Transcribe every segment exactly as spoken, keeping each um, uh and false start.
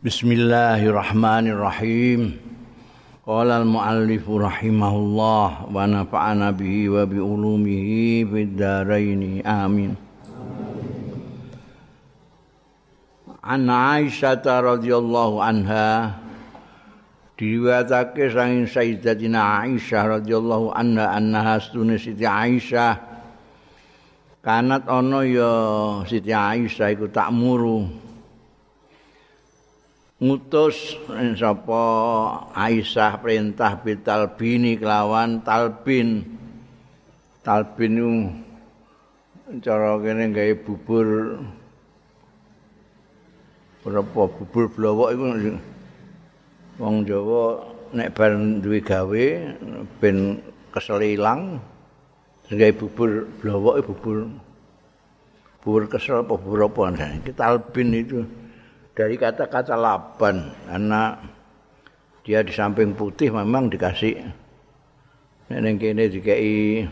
Bismillahirrahmanirrahim. Qala al-muallif rahimahullah wa nafa'ana bihi wa bi ulumihi fid dharain. Amin. An Aisyah radhiyallahu anha, diriwayatake saking Sayyidatina Aisyah radhiyallahu anha annaha sunni Siti Aisyah kanat ana ya Siti Aisyah iku takmuru ngutus sapa Aisyah perintah bitalbini kelawan talbin. Talbin itu cara kene gawe bubur berapa bubur blowok iku wong Jawa nek bar duwe gawe ben kesel ilang gawe bubur blowok bubur bubur kesel apa bubur apa iki talbin itu dari kata-kata laban, karena dia di samping putih memang dikasih ning kene dikai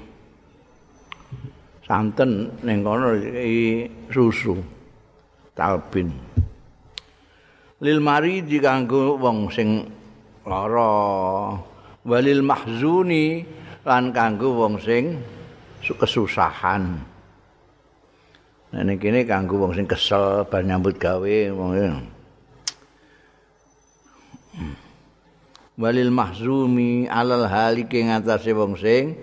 santen, ning kono dikai susu talbin. Lil mari diganggu wong sing lara, walil mahzuni lan kanggo wong sing kesusahan. Nah ning kene kanggo wong sing kesel bar nyambut gawe wong. Walil mahzumi alal halike ngatasé wong sing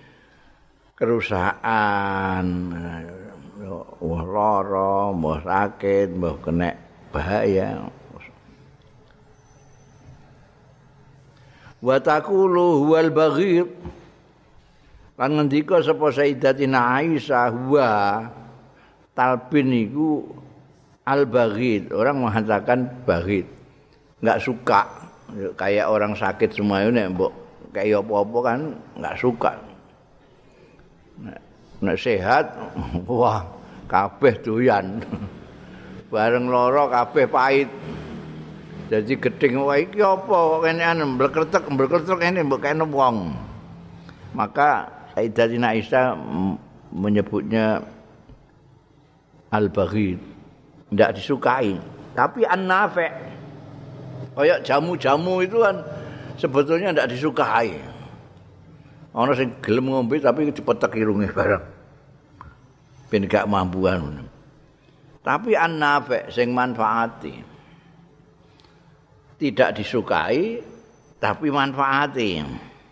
kerusakan. Wah lara, mbah sakit, mbah kena bahaya. Wa taqulu huwal baghir. Lan ngendika sapa Sayyidatina Aisyah huwa talbin itu al-baghid, orang mengatakan baghid, nggak suka, kayak orang sakit semuanya nek mbok kayak apa-apa kan nggak suka. Nek, nek sehat, wah kabeh doyan, bareng loro kabeh pahit. Jadi gedeng wae iki apa kene anu blekretek blekretek ini mbok kene wong. Maka Sayyidatina Aisyah menyebutnya al-baghid, tidak disukai. Tapi an-nafi', kayak jamu-jamu itu kan sebetulnya tidak disukai. Ana sing gelem ngombe tapi dipetek irunge barang. Ben gak mampuan. Tapi an-nafi' sing manfaati tidak disukai tapi manfaati.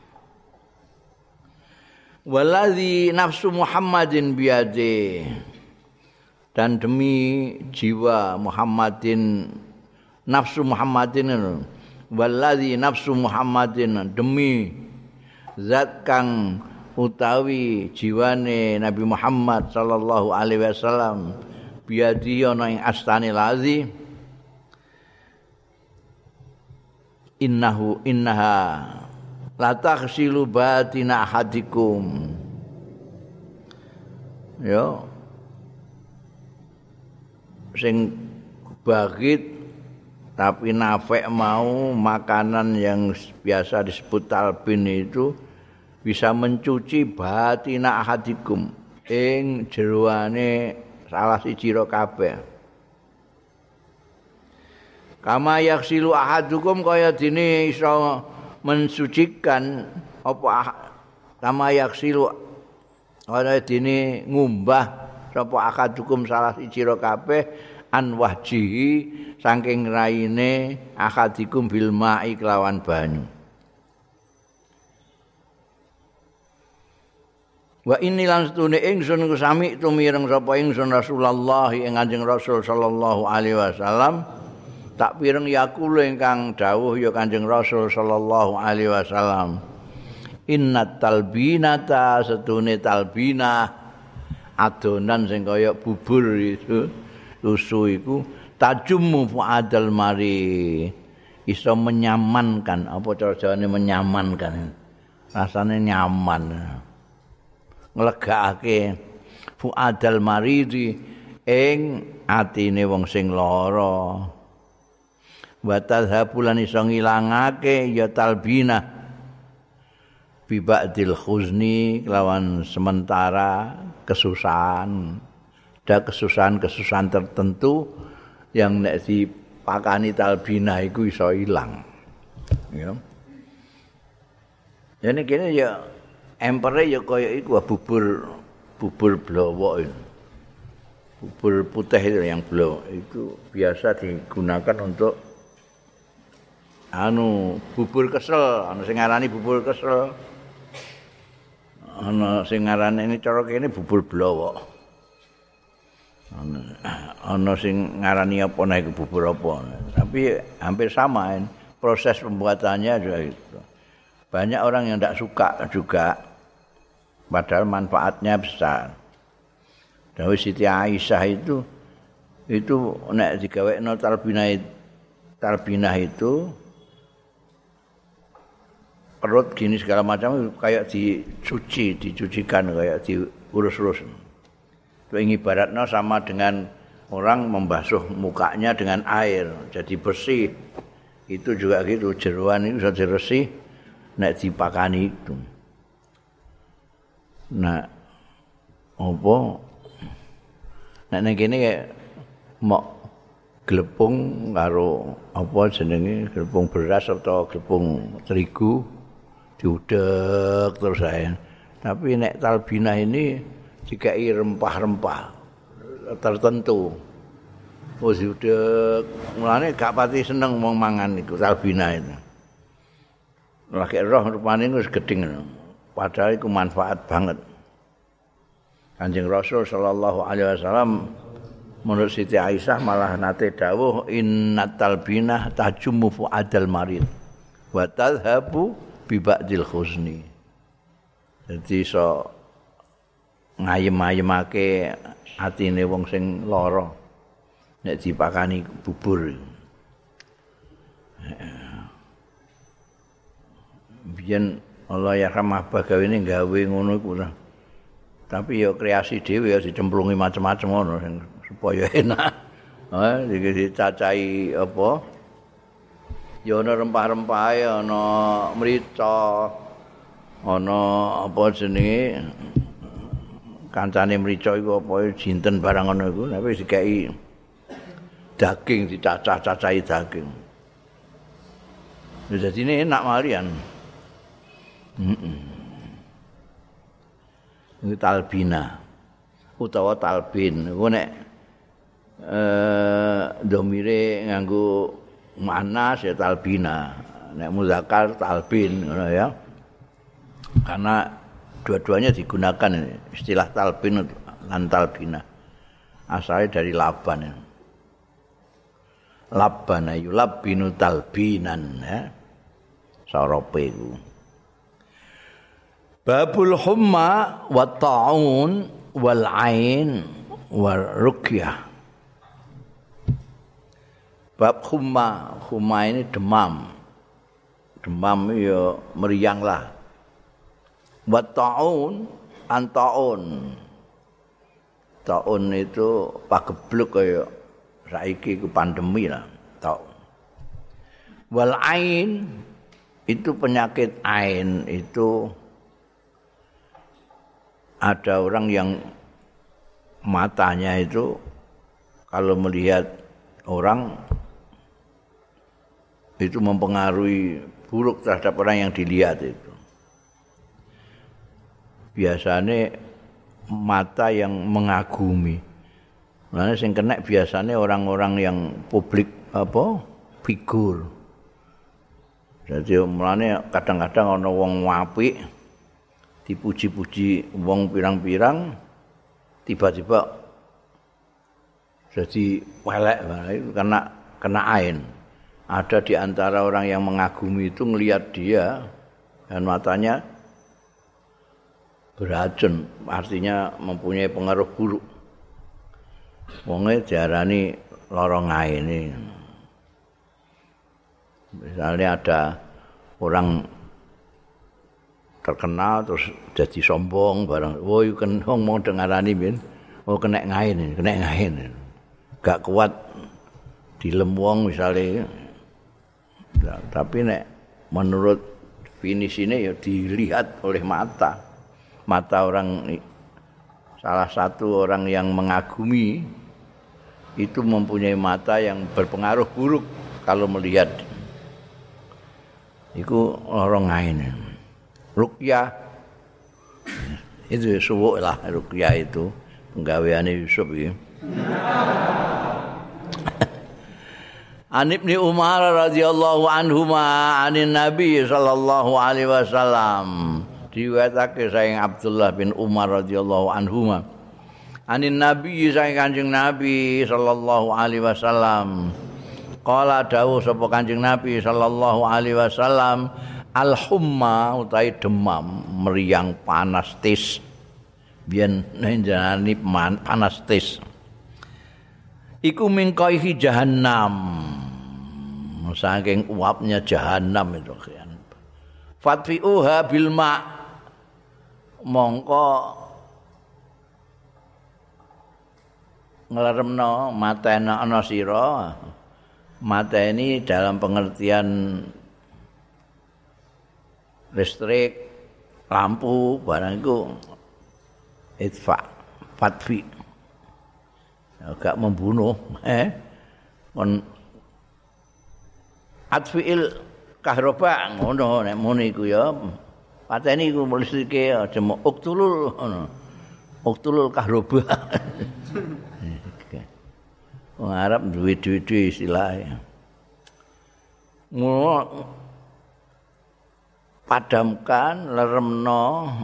Waladzi nafsu Muhammadin biyadi, dan demi jiwa Muhammadin, nafsu Muhammadin, waladzi nafsu Muhammadin, demi zat kang utawi jiwane Nabi Muhammad sallallahu alaihi wasallam biadi ana ing astane lazi, innahu innaha la taghsilu batina ahadikum. Yo sing bagit tapi nafek mau makanan yang biasa disebut talbin itu bisa mencuci batina ahadikum ing jeroane salah siji ro kabeh. Kama yaksilu ahadukum kaya dene iso mensucikan apa kama yaksilu kaya dene ngumbah sapa akadukum salah siji ro kabeh an wajhihi saking raine akadikum bil ma'i kelawan banyu. Wa inni lan stune ingsun sami tumireng sapa ingsun Rasulullah ing Kanjeng Rasul sallallahu alaihi wasallam, tak pireng yakulu ingkang dawuh ya Kanjeng Rasul sallallahu alaihi wasallam, innat talbinata setune talbinah adonan sing kaya bubur itu susu iku tajummu fuadal mari, iso menyamankan, apa cara Jawane menyamankan, rasane nyaman, nglegakake fuadal maridi ing atine wong sing lara, wa tadhabulan iso ngilangake ya talbinah bi ba'dil khuzni kelawan sementara kesusahan. Ada kesusahan-kesusahan tertentu yang nek pakani talbinah iku iso ilang. Ya. Jadi kene ya empere ya kaya iku bubur bubur blowok itu. Bubur putih itu yang blow itu biasa digunakan untuk anu bubur kesel, ana sing ngarani bubur kesel. Ana sing ngarani ini cara kene bubur blowok. Ana ana sing ngarani apa nek bubur apa. Tapi hampir sama ini. Proses pembuatannya juga itu. Banyak orang yang tidak suka juga padahal manfaatnya besar. Dawuh Siti Aisyah itu itu nek digawekno talbinah talbinah itu perut gini segala macam kayak dicuci, dicucikan kayak diurus-urus. Itu ibaratnya sama dengan orang membasuh mukanya dengan air jadi bersih. Itu juga gitu jeroan itu bisa diresih nek dipakani itu. Nah, apa nek ning kene mok glepung karo apa jenenge glepung beras atau glepung terigu diudek terus saya. Tapi nek talbinah ini dikai rempah-rempah tertentu. Wis diudek, mulane gak pati seneng wong mangan iku talbinah itu. Lagi roh rupane wis gedeng. Padahal iku manfaat banget. Kanjeng Rasul sallallahu alaihi wasallam menurut Siti Aisyah malah nate dawuh innat talbinah tajummu fuadal marid wa tadhhabu bi ba'dil khuzni. Jadi so ngayem-ayemake atine wong sing lara nek dipakani bubur. Biyen Allah ya rahmah bagawene gawe ngono iku. Tapi ya kreasi dhewe ya dicemplungi macam-macam ngono supaya enak. Ha, iki dicacahi apa? Ya ana rempah-rempahe, ana mrica, ana apa jenenge kancane mrica iku apa jinten barang ngono iku, tapi dikai daging dicacah-cacahi daging. Ya dadine enak malian. Heeh. Ini talbina utawa talbin iku nek eh domire nganggo manas ya talbina nek muzakkar talbin ngono ya karena dua-duanya digunakan istilah talbin lan talbina asalnya dari laban ya. Labana yulabbinu talbinan ya sarape iku. Babul humma wa ta'un wal ain wal ruqyah. Bab humma, humma ini demam. Demam ya meriang lah. Wa ta'un, antaun. Ta'un itu pagebluk kaya saiki ku pandemi lah, ta'un. Wal ain itu penyakit ain itu ada orang yang matanya itu kalau melihat orang itu mempengaruhi buruk terhadap orang yang dilihat itu. Biasanya mata yang mengagumi. Nah, sing kena biasanya orang-orang yang publik apa figur. Jadi mulane kadang-kadang ana wong apik dipuji-puji wong pirang-pirang tiba-tiba jadi welek karena kena ain. Ada di antara orang yang mengagumi itu ngelihat dia dan matanya beracun, artinya mempunyai pengaruh buruk. Wonge diarani lorong ain ini. Misalnya ada orang terkenal terus jadi sombong barang. Woi kan ngomong dengarani ben. Oh kena ngain, kena ngain. Gak kuat dilem wong misalnya. Nah, tapi nek menurut definisinya ya dilihat oleh mata. Mata orang salah satu orang yang mengagumi itu mempunyai mata yang berpengaruh buruk kalau melihat. Iku orang lain. Ruqyah itu suwuk lah, ruqyah itu penggaweane Yusuf iki. An Ibnu Umar radhiyallahu anhuma anin Nabi sallallahu alaihi wasallam. Diwetake saking Abdullah bin Umar radhiyallahu anhuma. Anin Nabi saking Kanjeng Nabi sallallahu alaihi wasallam. Qala dawuh sapa Kanjeng Nabi sallallahu alaihi wasallam, al-humma utawi demam, meriang panas tis. Biyen njenengan panas tis. Iku mingkaihi jahannam. Saking uapnya jahannam itu kan. Fatfi'uha bil ma' mongko ngleremno mateni ana sira. Mateni dalam pengertian listrik, lampu, barang itu itfa, fatfi. Agak membunuh, eh, kon atfiil kahroba ngono nek muni iku ya. Pateni iku listrike aja mok uktulul ngono. Uktulul kahroba. Wong Arab duwe-duwe istilahé. Ngono padamkan, leremno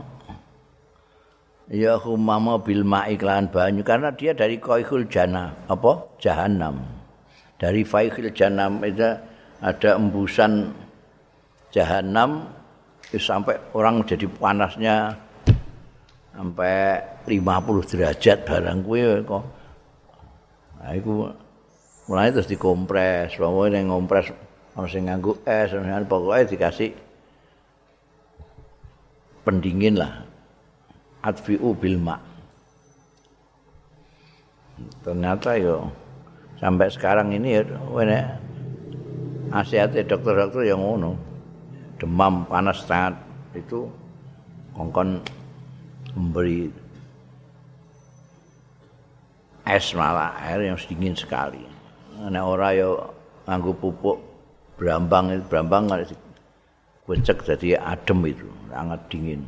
ya humama bil ma'i lan banyu karena dia dari qaihul jannah apa jahannam. Dari faihil jahannam itu ada embusan jahannam sampai orang jadi panasnya sampai lima puluh derajat barang kuwi kok. Nah iku mulai terus dikompres, pokoke ning ngompres ana sing nganggo es, pokoke dikasih pendingin lah. Atfi'u bil ma'. Ternyata yo sampai sekarang ini ya wene nasihatnya dokter-dokter yang ngono. Demam panas sangat itu kongkon memberi es malah air yang dingin sekali. Nek ora yo nganggo pupuk brambang itu brambang becek jadi adem itu, sangat dingin.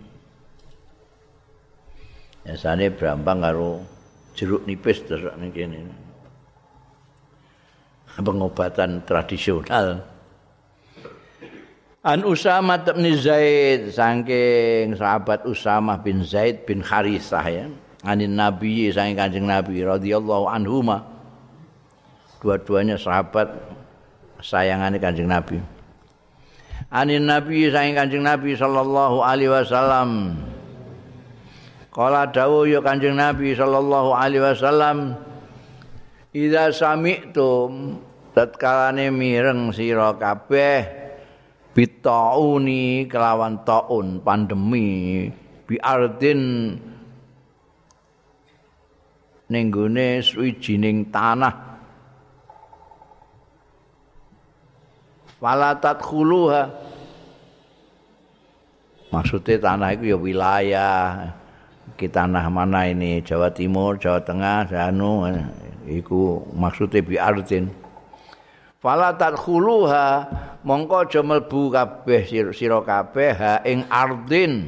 Biasanya brambang karo jeruk nipis terus ning kene. Pengobatan tradisional. An Usamah bin Zaid saking sahabat Usamah bin Zaid bin Harisah ya. Anin Nabi saking Kanjeng Nabi radhiyallahu anhuma. Dua-duanya sahabat sayangane Kanjeng Nabi. Anin Nabi saking Kanjeng Nabi sallallahu alaihi wasallam. Qala dawuh ya Kanjeng Nabi sallallahu alaihi wasallam, idza sami'tum tatkalane mireng sira kabeh bitauni kelawan taun pandemi bi ardin ning gone suwijining tanah fala tadkhuluha maksudnya tanah itu ya wilayah kita tanah mana ini Jawa Timur, Jawa Tengah, anu iku maksudnya bi ardin fala tadkhuluha mongko aja mlebu kabeh sira kabeh ha ing ardin.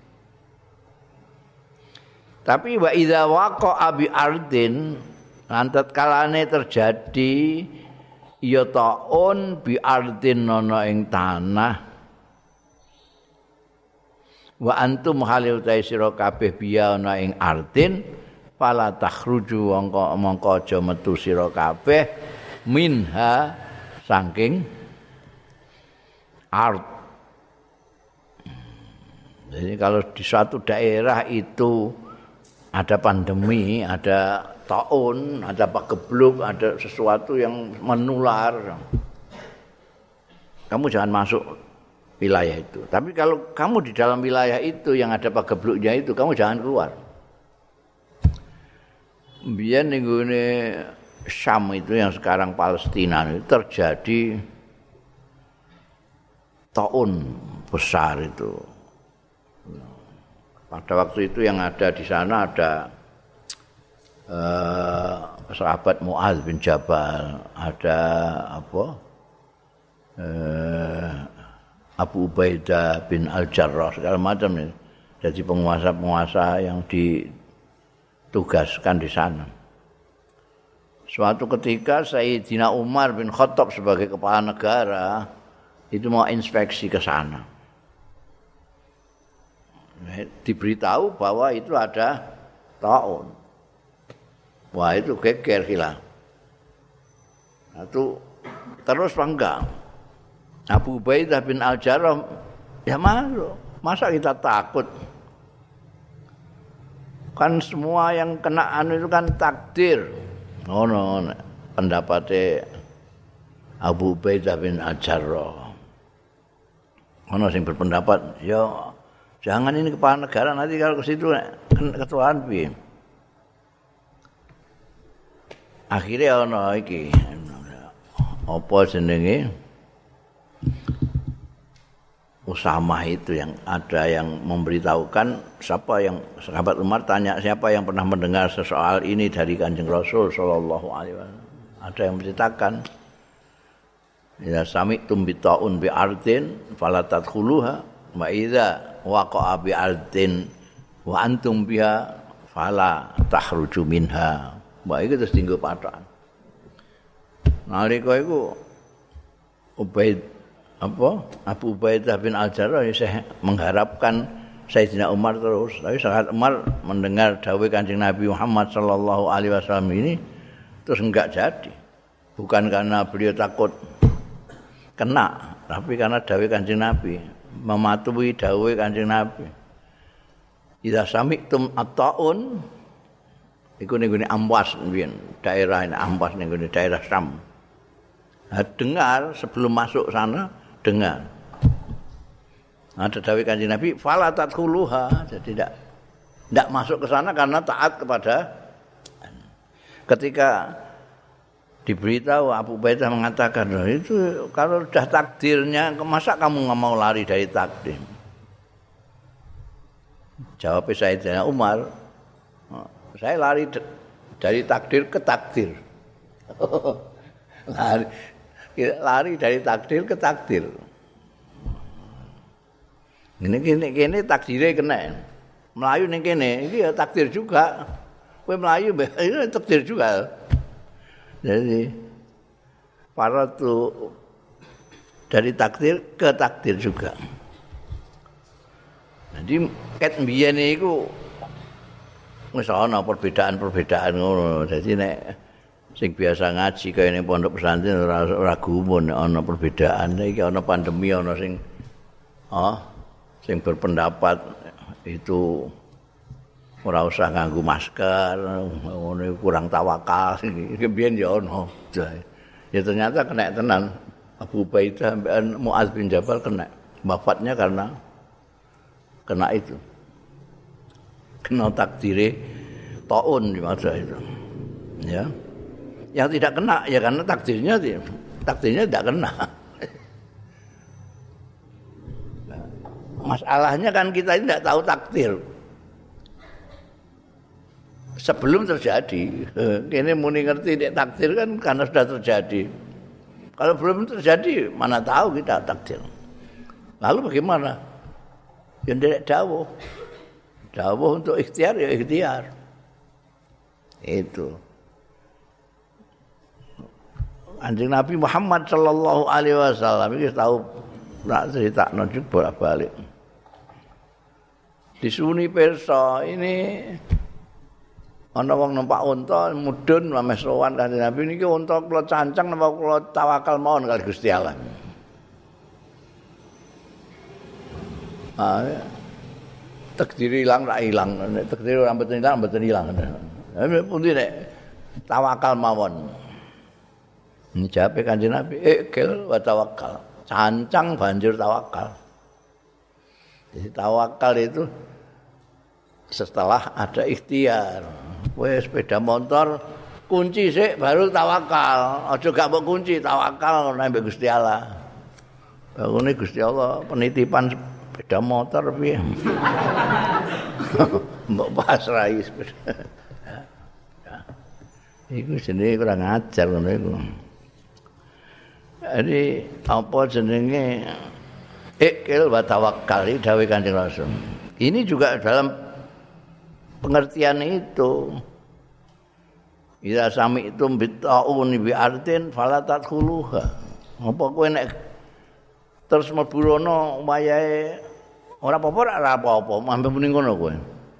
Tapi wa idza waqa'a bi ardin lan tatkalane terjadi ya taun bi ardin ana ing tanah wa antum halil ta sira kabeh biya ana ing ardin fala takhruju mongko mongko aja metu sira kabeh minha saking art. Jadi kalau di suatu daerah itu ada pandemi, ada taun, ada pagebluk, ada sesuatu yang menular, kamu jangan masuk wilayah itu. Tapi kalau kamu di dalam wilayah itu yang ada pagebluknya itu, kamu jangan keluar. Biar nenggune Syam itu yang sekarang Palestina itu terjadi taun besar itu. Pada waktu itu yang ada di sana ada eh, sahabat Mu'adz bin Jabal, ada apa? Eh, Abu Ubaidah bin Al-Jarrah segala macam ya. Jadi penguasa-penguasa yang ditugaskan di sana. Suatu ketika Sayyidina Umar bin Khattab sebagai kepala negara itu mau inspeksi ke sana. Diberitahu bahwa itu ada taun. Wah itu geger hilang. Itu terus enggak. Abu Ubaidah bin Al-Jarrah ya masuk. Masa kita takut? Kan semua yang kena anu itu kan takdir. Oh no, pendapatnya Abu Ubaidah bin Al-Jarrah. Ono sing berpendapat, ya jangan ini kepala negara nanti kalau ke situ ketuaan piye. Akhirnya ono iki apa jenenge Usamah itu yang ada yang memberitahukan siapa yang sahabat Umar tanya siapa yang pernah mendengar sesoal ini dari Kanjeng Rasul sallallahu alaihi wasallam. Ada yang menceritakan ya sami'tum bi ta'un bi ardin fala tadkhuluha wa idza waqa'a bi ardin wa antum biha fala takhruju minha. Wah itu terus tinggal pataan. Nalika iku Ubaid apa Abu Ubaidah bin Al-Jarrah ya mengharapkan Sayyidina Umar terus. Tapi saat Umar mendengar dawuh Kanjeng Nabi Muhammad sallallahu alaihi wasallam ini terus enggak jadi. Bukan karena beliau takut kena, tapi karena dawuh Kanjeng Nabi, mematuhi dawuh Kanjeng Nabi. Idza sami'tum at-ta'un iku ning Amwas mbiyen, daerah ini Amwas ning daerah Syam. Nah, dengar sebelum masuk sana dengar. Ada dawuh Kanjeng Nabi, fala tadkhuluha, jadi tidak tidak masuk ke sana karena taat kepada. Ketika diberitahu Abu Ubaidah mengatakan, itu kalau sudah takdirnya, masa kamu nggak mau lari dari takdir? Jawab Sayyidina Umar, saya lari dari takdir ke takdir. lari lari dari takdir ke takdir. Ini kene kene takdire kena. Melayu ning kene iki ya takdir juga. Kowe melayu ini takdir juga. Jadi para tu dari takdir ke takdir juga. Jadi ket mbiyen iku wis ana perbedaan-perbedaan ngono. Dadi nek sing biasa ngaji kaya ning pondok pesantren ora ora gumun ana perbedaan. Iki ana pandemi ana sing ah sing berpendapat itu ora usah nganggo masker, ngono kurang tawakal. Iki biyen ya ana. Ya ternyata kena tenan. Abu Ubaidah sampean Mu'adz bin Jabal kena. Wafatnya karena kena itu. Kena takdire taun di masa itu. Ya. Yang tidak kena ya karena takdirnya takdirnya tidak kena. Masalahnya kan kita ini tidak tahu takdir sebelum terjadi. Kini muni ngerti nek takdir kan karena sudah terjadi. Kalau belum terjadi mana tahu kita takdir. Lalu bagaimana? Yang tidak dawuh. Dawuh untuk ikhtiar ya ikhtiar. Itu. Kanjeng Nabi Muhammad sallallahu alaihi wasallam iki tahu nak critakno bolak-balik. Disuni pirsa ini ana wong numpak unta mudhun meh sowan Kanjeng Nabi niki unta kula cancang napa kula tawakal mawon kali Gusti Allah. Ah, takdir ilang ra ilang, nek takdir ora mboten ilang mboten ilang. Nek pundi nek tawakal mawon. Ini jawab Kanjeng Nabi, ikil wa tawakkal. Cancang banjur tawakal. Jadi tawakal itu setelah ada ikhtiar. Kowe sepeda motor kunci sik baru tawakal. Aja gak mbok kunci, tawakal nang Gusti Allah. Bagune Gusti Allah penitipan sepeda motor piye? Mbok pasrahi sepeda. Iku jenenge kurang ajar ngono iku. Jadi apa jenenge ikil wa tawakkal dawuh Kanjeng Rasul. Ini juga dalam pengertian itu. Ila sami'tum bitta'un bi artin fala tadkhuluha. Apa kowe nek terus mlebu rono wayahe ora apa-apa ora apa-apa, mampu muni ngono kowe.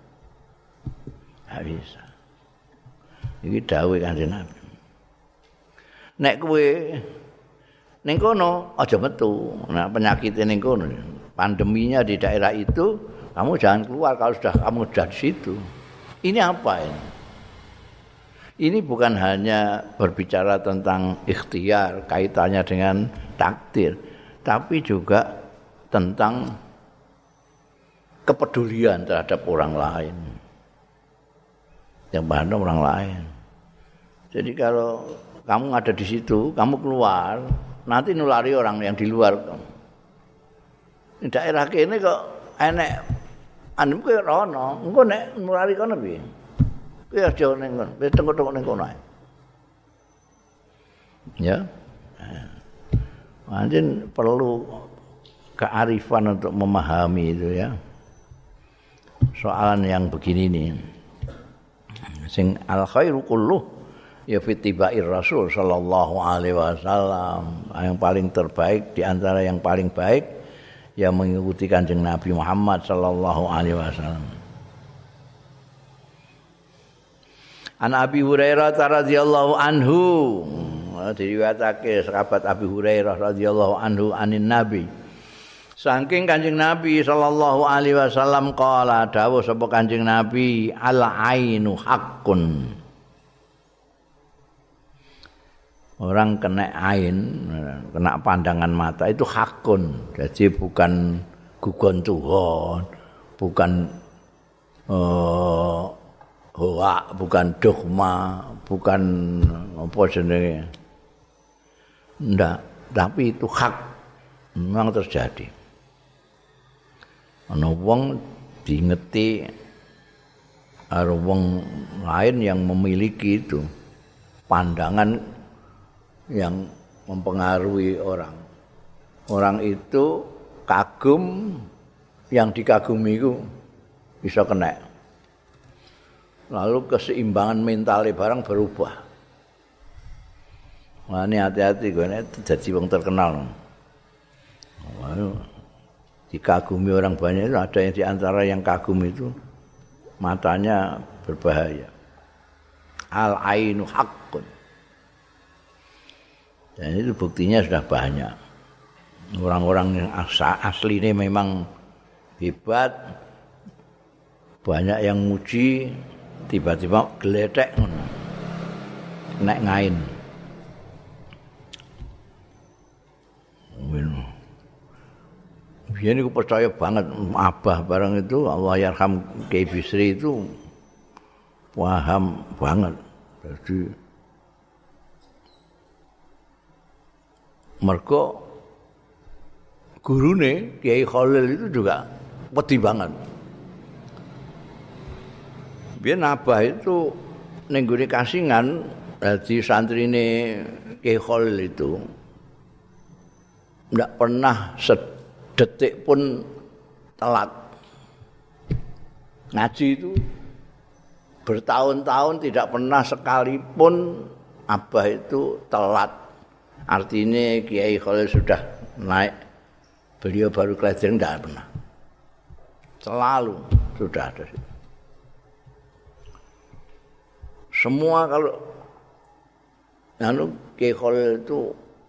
Ha bisa. Iki dawuh Kanjeng Nabi. Nek kowe ning kono aja metu. Nah, penyakitnya ning kono. Pandeminya di daerah itu, kamu jangan keluar kalau sudah kamu sudah di situ. Ini apa ini? Ini bukan hanya berbicara tentang ikhtiar, kaitannya dengan takdir, tapi juga tentang kepedulian terhadap orang lain. Yang mana orang lain. Jadi kalau kamu ada di situ, kamu keluar, nanti nulari orang yang di luar. Di daerah kene kok enek anu kowe rono, engko nek nulari kono piye? Kowe aja ning kono, wis tengok-tengok ning kono ae. Ya. Anjen perlu kearifan untuk memahami itu ya. Soalan yang begini nih. Sing al khairu kulluh ya fitibair Rasul sallallahu alaihi wasallam. Yang paling terbaik di antara yang paling baik yang mengikuti Kanjeng Nabi Muhammad sallallahu alaihi wasallam. An Abi Hurairah radhiyallahu anhu, diriwayatake sahabat Abi Hurairah radhiyallahu anhu anin Nabi. Saking Kanjeng Nabi sallallahu alaihi wasallam qala dawuh sapa Kanjeng Nabi al ainu haqqun. Orang kena ain, kena pandangan mata itu hakun. Jadi bukan gugon Tuhan, bukan uh, hoa, bukan dogma, bukan apa jenenge. Ndak, tapi itu hak memang terjadi. Ana wong diingeti karo wong lain yang memiliki itu pandangan yang mempengaruhi orang. Orang itu kagum, yang dikagumi itu bisa kena. Lalu keseimbangan mentalnya barang berubah. Nah ini hati-hati gue ini jadi wong terkenal. Lalu dikagumi orang banyak itu ada yang diantara yang kagum itu matanya berbahaya. Al ainu haqqun. Dan itu buktinya sudah banyak. Orang-orang yang asli ini memang hebat. Banyak yang muji, tiba-tiba geletek naik ngain. Biar aku percaya banget Abah barang itu Allah yarham Kiai Bisri itu paham banget. Jadi mergo gurune Kiai Khalil itu juga wedi banget. Biar Abah itu ning gone Kasingan dadi santrine Kiai Khalil itu ndak pernah sedetik pun telat. Ngaji itu bertahun-tahun tidak pernah sekalipun Abah itu telat. Artinya Kiai Khalil sudah naik, beliau baru kelahiran tidak pernah. Selalu sudah ada. Semua kalau lalu Kiai Khalil itu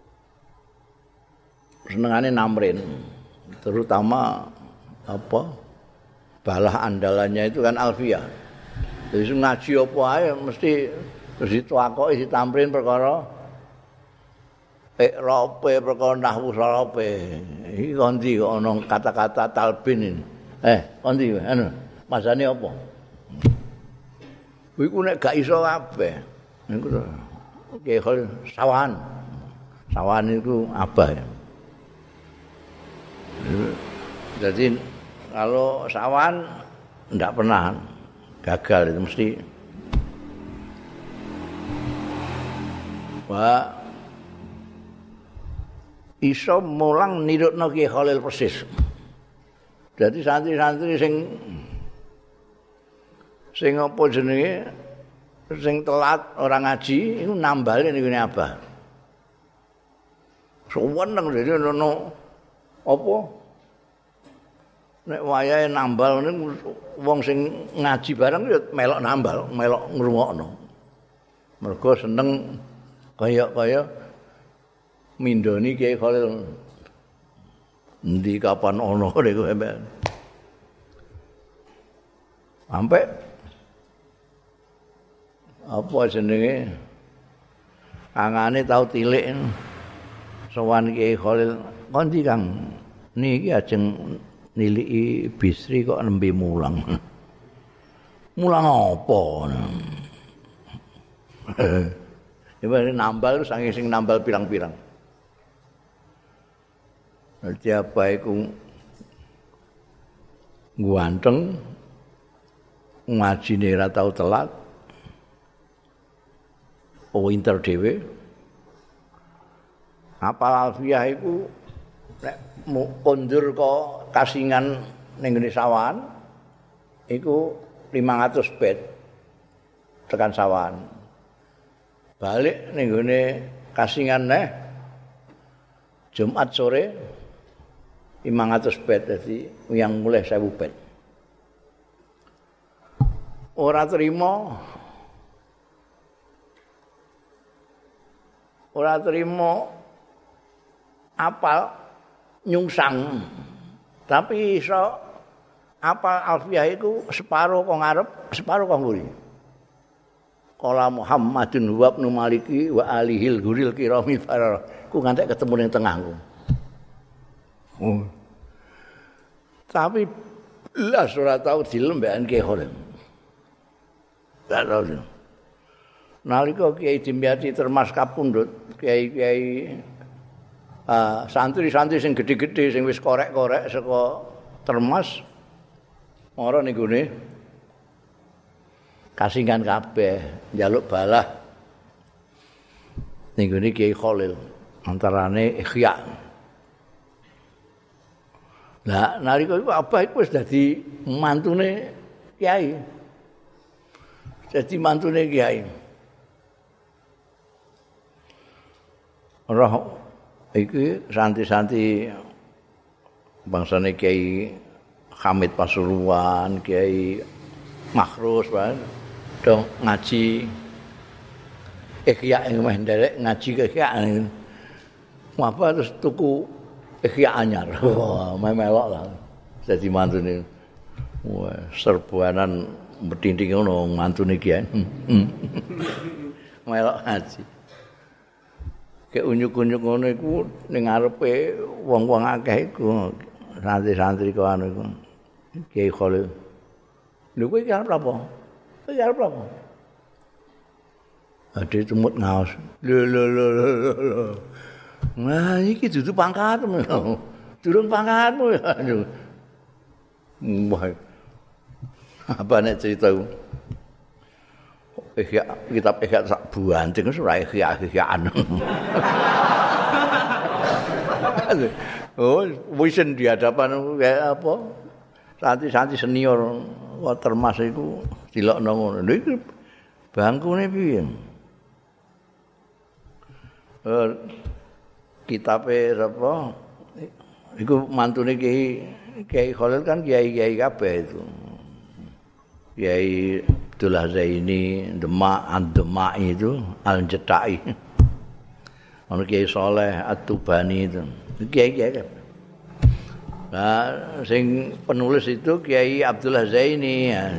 senengannya namrin, terutama apa balah andalannya itu kan Alfiyah. Jadi ngaji apa aja mesti terus dituakoki ditamrin perkara Iqrape perkara nahwu sarape. Iki kondi kok ana kata-kata talbin ini. Eh, kondi anu, masane apa? Iku nek gak iso kabeh. Niku to. Oke, sawan. Sawan itu Abah. Jadi kalau sawan ndak pernah gagal itu mesti Wah iso mulang nirutno Ki Khalil persis. Jadi santri-santri sing sing apa jenenge sing telat ora ngaji iku nambale niku Abah. Suweneng dene ono apa nek wayahe nambal niku wong sing ngaji bareng ya melok nambal, melok ngrungokno. Mergo seneng kaya-kaya mindoni Kiai Khalil. Endi kapan ono niku sampean. Sampai apa jenenge angane tau tilik sowan Kiai Khalil kondi Kang niki ajeng niliki Bisri kok nembe mulang. Mulang apa? Ibu nambal saking sing nambal pirang-pirang. Dadi apa iku ganteng ngajine ora tau telat. Pinter dhewe. Apal alfiah iku nek kondur kok kasingan ning ngene sawan iku lima ratus bait tekan sawan. Balik ning ngene kasingan neh Jumat sore lima ratus bait dadi yang mulai seribu bait. Ora trima ora trima apal nyungsang. Tapi iso apal alfiah iku separo kok ngarep, separo kok nguri. Qala Muhammadun wa ibnu Maliki wa alihil guril kirami farar. Ku ngantek ketemu ning tengahku. Oh. Tapi belas ora tau dilembekan Kiai Khalil. Enggak tahu. Nalika Kiai Dimyati Termas kapundhut, kiai-kiai uh, santri-santri sing gedhe-gedhe sing wis korek-korek saka Termas ora ning gone kasingan kabeh njaluk balah ning gone Kiai Khalil antarane Ikhya. Lah nalika iku Abah iku wis dadi mantune Kiai. Dadi mantune Kiai. Roh iki santri-santri bangsane Kiai Hamid Pasuruan, Kiai Makhrus wae dong ngaji Ikhya ing meh nderek ngaji ke Ikhya. Apa terus tuku Ikhya anyar. Wah, melok lah. Dadi mantune. Wah, serbuanan betinding ngono mantune Kiai. Melok ngaji. Kayak unyuk-unyuk ngono iku ning ngarepe wong-wong akeh iku santri-santri kok anu iku. Kiai Khalil. Lho kowe iki arep apa? Kowe arep apa? Ade cemut ngaos. Lho lho lho lho. Nah iki dudu pangkatmu. Durung pangkatmu ya. Wah. Apa nek cerita Ikhya kitab Ikhya sak buanting wis ora Ikhya-Ikhyaan. Oh, wis di hadapan kayak apa? Santri-santri senior kok Termas iku dilokno ngono. Lho iki bangkune piye? Eh kitabe apa? Iku mantune Kiai Kiai Khalil kan kiai-kiai kabeh itu. Kiai Abdullah Zaini, Demak, Demak itu Al-Jetai. Ono Kiai Saleh At-Tubani itu. Kiai-kiai kabeh. Nah, sing penulis itu Kiai Abdullah Zaini. Ya.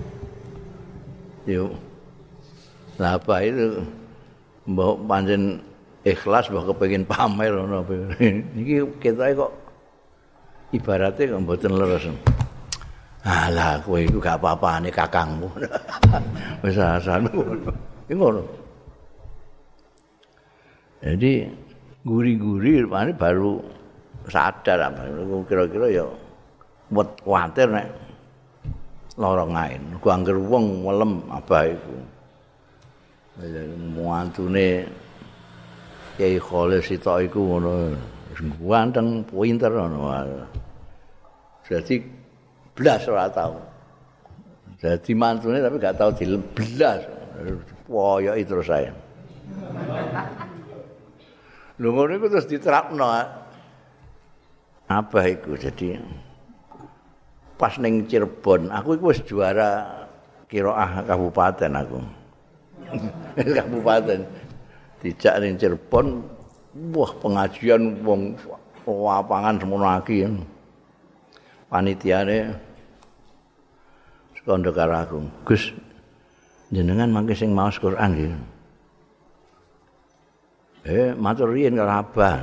Yuk. Lah apa itu? Mbok pancen ikhlas mbok kepengin pamer ngono apa. Niki kita kok ibaratnya kok mboten leres. Alah kowe iku gak apa-apane kakangmu. Wis asan ngono. Iki ngono. Jadi guri-guri rupane baru sadar apa kira-kira ya kuwatir nek lara ngain. Ku angger wong welem abah iku. Muantune Kiai Khalil sitok iku ngono. Ganteng, pinter ngono. Jadi blas ora tau. Jadi mantune tapi gak tau dileblas. Woyoki terus saya. Lho ngono iku terus diterapno. Apa iku jadi pas ning Cirebon, aku iku wis juara qiraah kabupaten aku. Kabupaten. Dijak ning Cirebon, wah pengajian wong lapangan semono aki. Panitiane kondo karo aku. Gus, jenengan mangke sing maos Quran nggih. Eh, matur riyen karo Abah.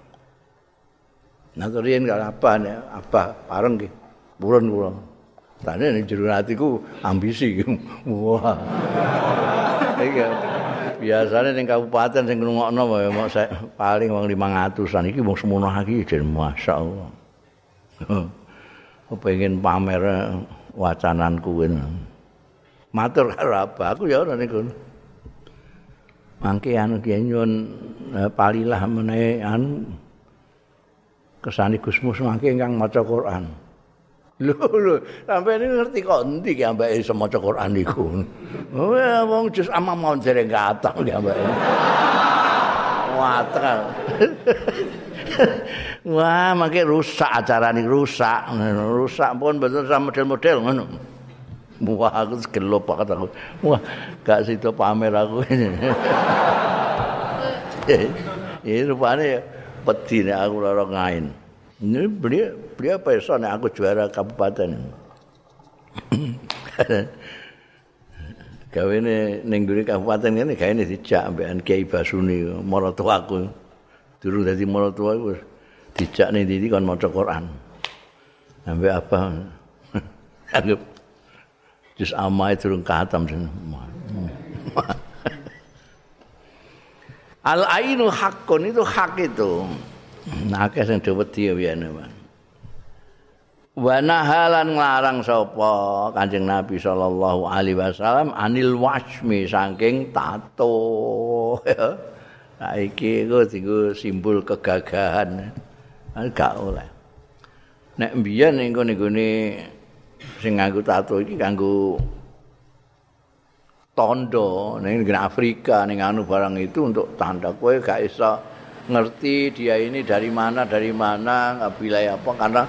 Matur riyen karo Abah, Abah bareng nggih. Purun kula. Tane ning jero atiku ambisi. Wah. Iki biasane ning kabupaten sing ngrungokno mok paling wong lima ratusan iki wong semono iki jen masyaallah. Kepengin pamer wacananku kuwi. Matur karo Abah, aku ya ora niku. Mangke anu ki nyuwun palilah menawi anu kesane Gusmus mangke ingkang maca Quran. Lho lho, sampeyan ngerti kok endi ki ambake iso maca Quran niku. Oh, wong jus amang mau dereng kathah ki ambake. Watrang. Wah, mangke rusak acara niki rusak. Rusak pun betul sama model-model ngono. Wah, aku gelo banget aku. Wah, gak sido pamer aku ini. Ini rupanya pedih nek aku lara ngain. Ini beliau beliau apa iso nek aku juara kabupaten. Gawene ning nggone kabupaten ngene gaene dijak ambekan Kiai Basuni maratuaku. Durung dadi maratuwa iku dijak ning ndi kon maca Quran. Ambek apa? Anggap jus amae durung katam. Al ainu haqqun itu hak itu. Nah, akeh sing wedi wiyane, Mas. Wa nahalan nglarang sapa Kanjeng Nabi sallallahu alaihi wasallam anil wasmi saking tato. Nah, iki iku dienggo simbol kegagahan. Gak oleh. Nek mbiyen ning gone-gone sing nganggo tato iki kanggo tondo ning Afrika ning anu barang itu untuk tanda kowe gak iso ngerti dia ini dari mana dari mana wilayah apa karena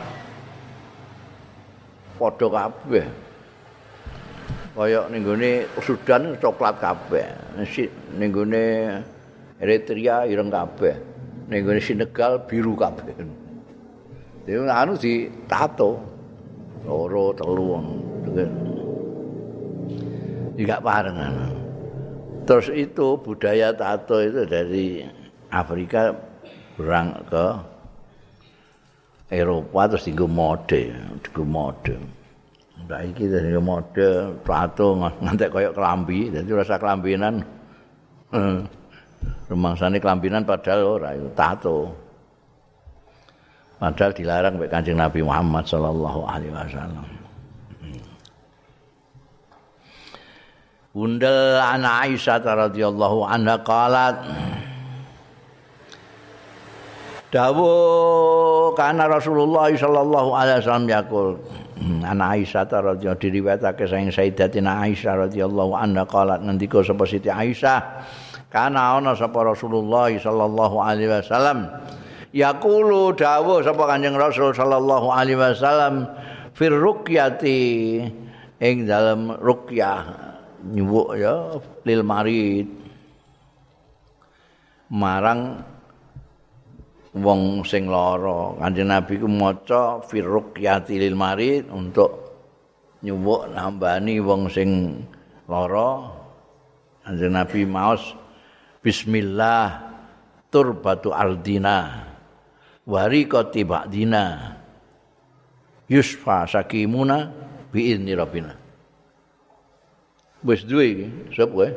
padha kabeh. Kaya ning gone Sudan coklat kabeh. Ning gone Eritrea ireng kabeh. Ning gone Senegal biru kabeh. Dene anu ditato. Loro telu juga barengan. Terus itu budaya tato itu dari Afrika berang ke Eropa terus dienggo mode, dienggo mode. Nah iki dienggo mode tato ngantek koyo klambi, dadi rasa kelambinan. Rumangsane kelambinan padahal ora itu tato. Padahal dilarang oleh Kanjeng Nabi Muhammad sallallahu alaihi wasallam. Bunda ana Aisyah radhiyallahu anha qalat Dawu kana Rasulullah sallallahu alaihi wasallam yaqul ana Aisyah radhiyallahu diriwayatake saking Sayyidatina Aisyah radhiyallahu anha qalat ngendika sapa Siti Aisyah kana ana sapa Rasulullah sallallahu alaihi wasallam yaqulu dawuh sapa Kanjeng Rasul sallallahu alaihi wasallam fir ruqyati ing dalem ruqyah nyuwuk ya lil marid marang wong sing lara. Kanjeng Nabi ku maca fir ruqyati lil marid untuk nyuwuk nambani wong sing lara. Kanjeng Nabi maos bismillah turbatu ardina wariqati ba'dina yusfa sakimuna bi idzni rabbina. Wis duwe iki, sop kowe.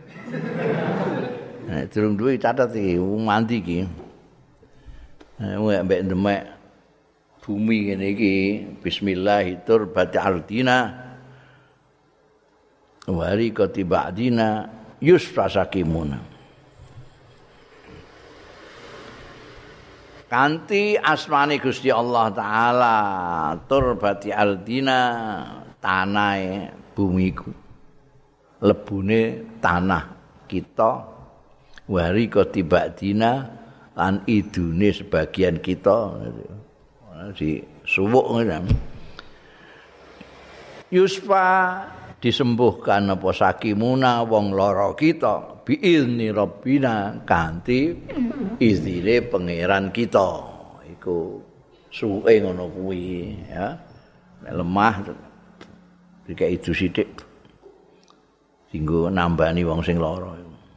Nek durung duwe catet iki mandi iki. Nek mbek demek bumi ngene iki bismillah turbati ardina wariqati ba'dina yusfa sakimuna. kanthi asmane Gusti Allah taala turbati ardina tanahe bumiku lebune tanah kita wari kotibak dina lan idune sebagian kita di suwuk ngene yusfa disembuhkan apa sakimuna wong lara kita biizni rabbina kanthi izine pangeran kita iku suwe ngono kuwi ya nek lemah dikai itu sithik dinggo nambani wong sing lara.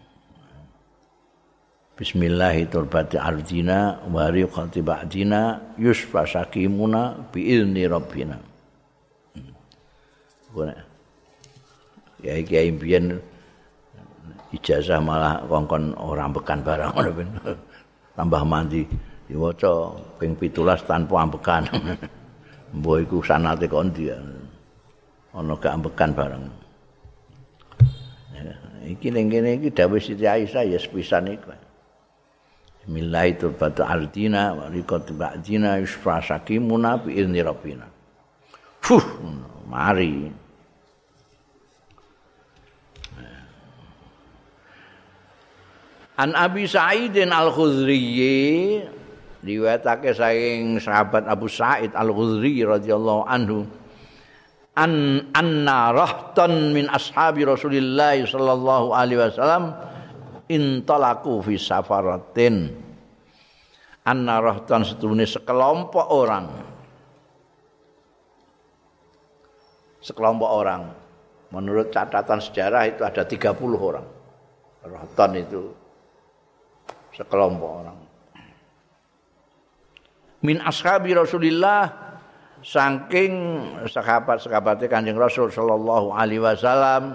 Bismillahi turbati ardina wa riqati ba'dina yusfa sakimuna biizni rabbina. Boleh. Ya iki impian ijazah malah kongkon orang ambekan barang ngono tambah mandi diwaca ping pitulas tanpa ambekan. Mbok iku sanate kondi ana gak ambekan barang. Iki ning kene iki dawuh Siti Aisyah ya sepisan iku. Bismillahirrahmanirrahim ardina wa riqati ba'dina yusfa sakimuna bi izni rabbina. Fuh, mari. An Abi Sa'idin Al-Khudri riwayatake saking sahabat Abu Sa'id Al-Khudri radhiyallahu anhu an anna rahtan min ashabi Rasulillah sallallahu alaihi wasallam intalaku fi safaratin anna rahtan setune sekelompok orang sekelompok orang menurut catatan sejarah itu ada tiga puluh orang rahtan itu sekelompok orang min ashabi Rasulillah saking sahabat-sahabatnya Kanjeng Rasul sallallahu alaihi wasallam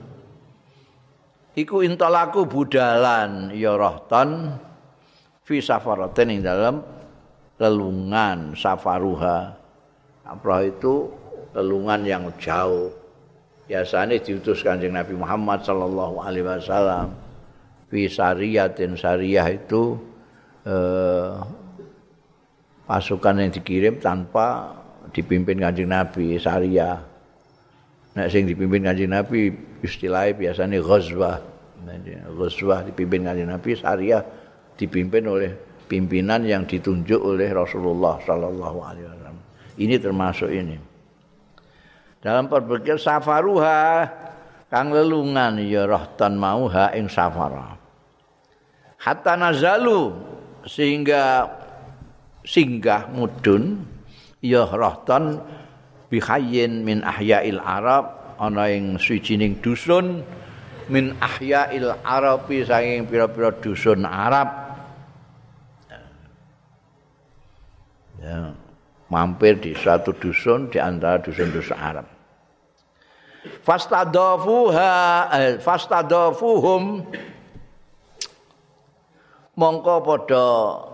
iku intalaku budalan ya rahtan fi safaratin ing dalam lelungan safaruha apa itu lelungan yang jauh biasanya diutus Kanjeng Nabi Muhammad sallallahu alaihi wasallam fi sariyatin sariyah itu eh, pasukan yang dikirim tanpa dipimpin Kanjeng Nabi sariyah. Nek sing dipimpin Kanjeng Nabi istilahnya biasanya ghazwah. Ghazwah dipimpin Kanjeng Nabi, sariyah dipimpin oleh pimpinan yang ditunjuk oleh Rasulullah sallallahu alaihi wasallam. Ini termasuk ini. Dalam berpikir safaruha kang lelungan ya rahtan mau ha ing safara. Hatta nazalu sehingga singgah mudun ya rahtan bihayyin min ahya'il arab ana ing suwijining dusun min ahya'il arabi saking pira-pira dusun Arab ya mampir di suatu dusun di antara dusun-dusun Arab fastadafuha eh, fastadafuhum mongko padha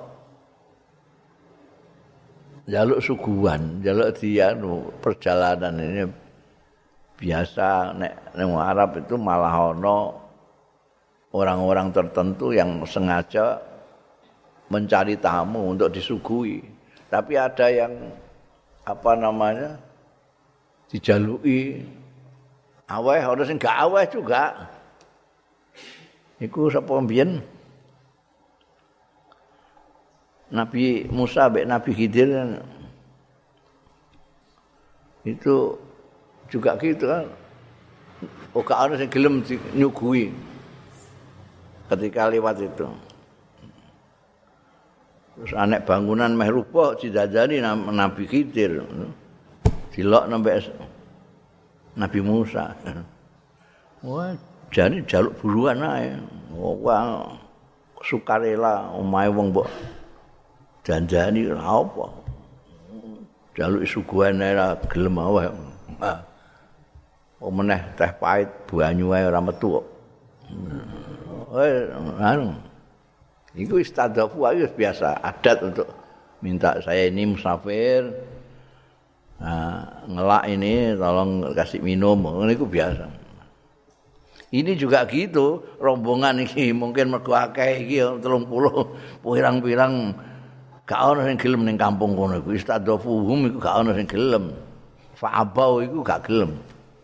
jaluk suguhan, jaluk dia perjalanan ini biasa nek nang Arab itu malah ono orang-orang tertentu yang sengaja mencari tamu untuk disuguhi. Tapi ada yang apa namanya dijalui aweh, orang sing gak aweh juga. Iku sapa mbiyen? Nabi Musa mbek Nabi Khidir itu juga gitu kan. Oka ana sing gelem nyuguhi ketika lewat itu. Terus anek bangunan meh rubuh didadani Nabi Khidir. Dilok sampai Nabi Musa. Wah, jane jaluk buruan ae. Wah, sukarela omahe wong mbok janjani lha apa? Jaluk suguhan ora gelem wae. Ah. Omeneh teh pahit banyu wae ora metu kok. Eh, anu. Iku istadafu ayo biasa adat untuk minta saya ini musafir. Nah, ngelak ini tolong kasih minum, niku biasa. Ini juga gitu, rombongan iki mungkin mergo akeh iki tiga puluh pirang-pirang gak ana sing gelem ning kampung kono iku istadzafuhum iku gak ana sing gelem fa'abau iku gak gelem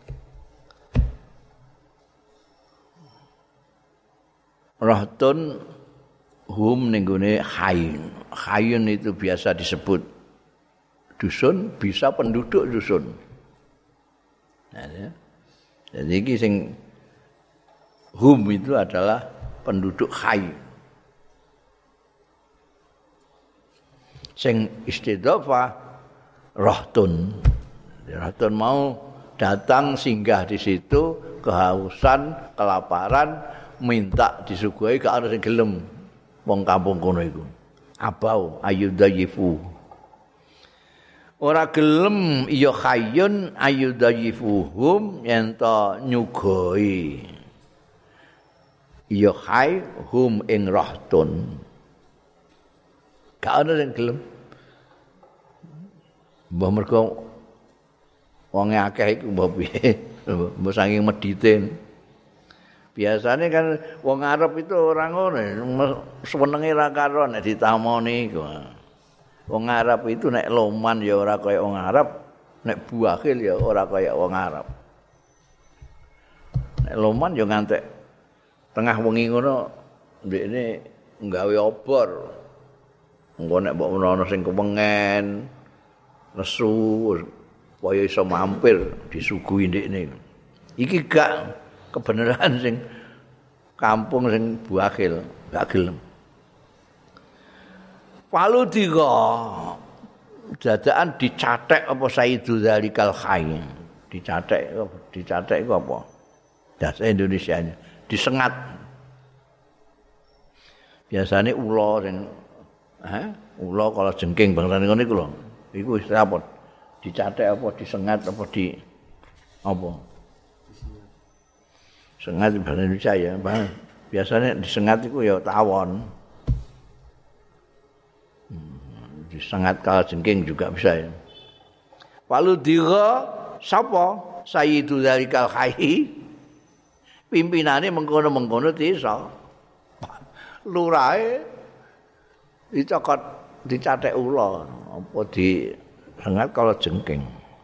rahtun hum ning gone hayun hayun itu biasa disebut dusun bisa penduduk dusun nah, ya. Jadi iki sing hum itu adalah penduduk hayun sing istidhafah rahtun rahtun mau datang singgah di situ kehausan kelaparan minta disuguhi gak ana sing gelem wong kampung kono iku abau ayudayifu ora gelem ya khayyun ayudayifuhum yen to nyugoi ya khay hum ing rahtun gak ana sing gelem mbah mergo wong akeh iku mbah piye mbah saking medite biasanya kan wong Arab itu orang ngono senenge ra karo nek ditamoni iku wong Arab itu nek loman ya ora kaya wong Arab nek buakhil ya ora kaya wong Arab nek loman ya ngantek tengah wengi ngono ndekne nggawe obor engko nek mbok menawa sing kewengen nesu supaya iso mampir disuguhi ndekne iki gak kebenaran sing kampung sing buakhil gak gelem palu tiga dadakan dicatek apa Sayyidul Zalikal Khay dicatek dicatek iku apa bahasa Indonesianya disengat biasanya ula sing eh ula kalau jengking bangsane ngono iku lho iku istilah apa dicatek apa disengat apa di apa sengat bahasa Indonesia ya, biasanya disengat itu ya tawon, hmm, disengat kala jengking juga bisa ya. Walu dira sapa Sayyidul Zalikal Khay pimpinane mengkono-mengkono desa. Lurahe dicokot dicatek ula apa disengat kala jengking.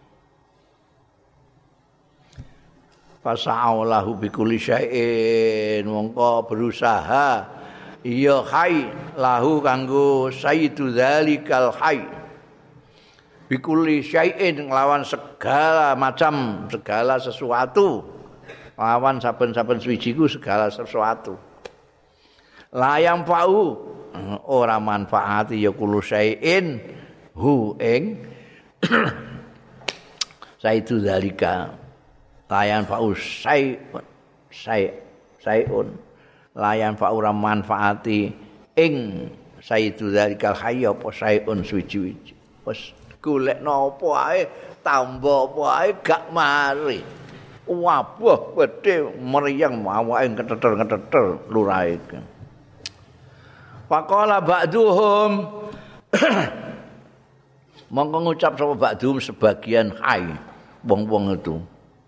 Fasa'aulahu bikulli syai'in mongko berusaha iya khay lahu kanggo Sayyidul Zalikal Khay bikulli syai'in nglawan segala macam segala sesuatu lawan saben-saben suwijiku segala sesuatu layang fa'u ora manfaati ya kullu syai'in hu ing Sayyidul Zalika layan fa'us sayun say sayun layan fa'ura manfaati ing Sayyidul Zalikal Khay apa sayun suwi-wiji wis golekno apa ae tambah apa ae gak mari wabah wedhe mriyang awake keteter-keteter lurahe faqala ba'duhum mongko ngucap sapa ba'duhum sebagian khay wong-wong itu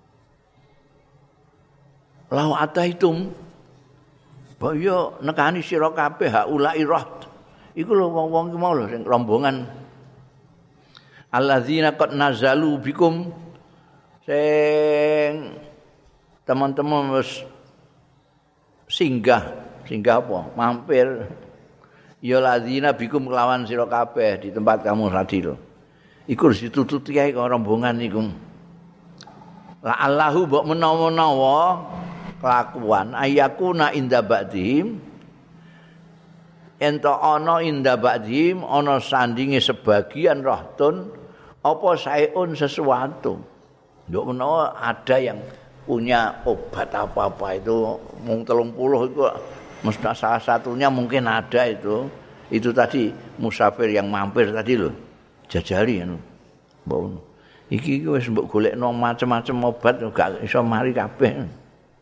lau ataitum bahaya nekani sira kabeh haulai raht iku lho wong-wong iki mau lho sing rombongan alladzina qad nazalu bikum sing teman-teman wis singgah singgah apa mampir ya ladzina bikum kelawan sira kabeh di tempat kamu tadi lho iku ditututi ae karo rombongan iku la Allahu mbok menawa-nawa kelakuan ayakuna inda ba'dihim ento ana inda ba'dihim ana sandinge sebagian rahtun apa saeun sesuatu nduk menawa ada yang punya obat apa-apa itu mung telung puluh itu mesti salah satunya mungkin ada itu itu tadi musafir yang mampir tadi lho jajali anu mbok iki iki wis mbok golekno macam-macam obat gak iso mari kabeh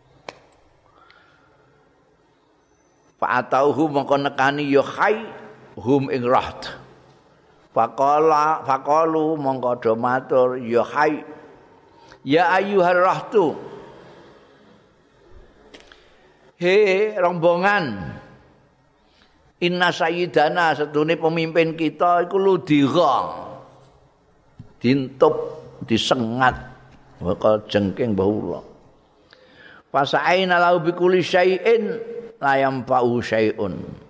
fa'atauhu mongko nekani ya khay hum ing raht faqala faqalu mongko do matur ya khay ya ayyuhar rahtu he rombongan Inna sayyidana setune pemimpin kita iku ludira. Dintup, disengat, bakal jengking bahula. Fasa'aina lahu bikulli syai'in la yanfa'u syai'un.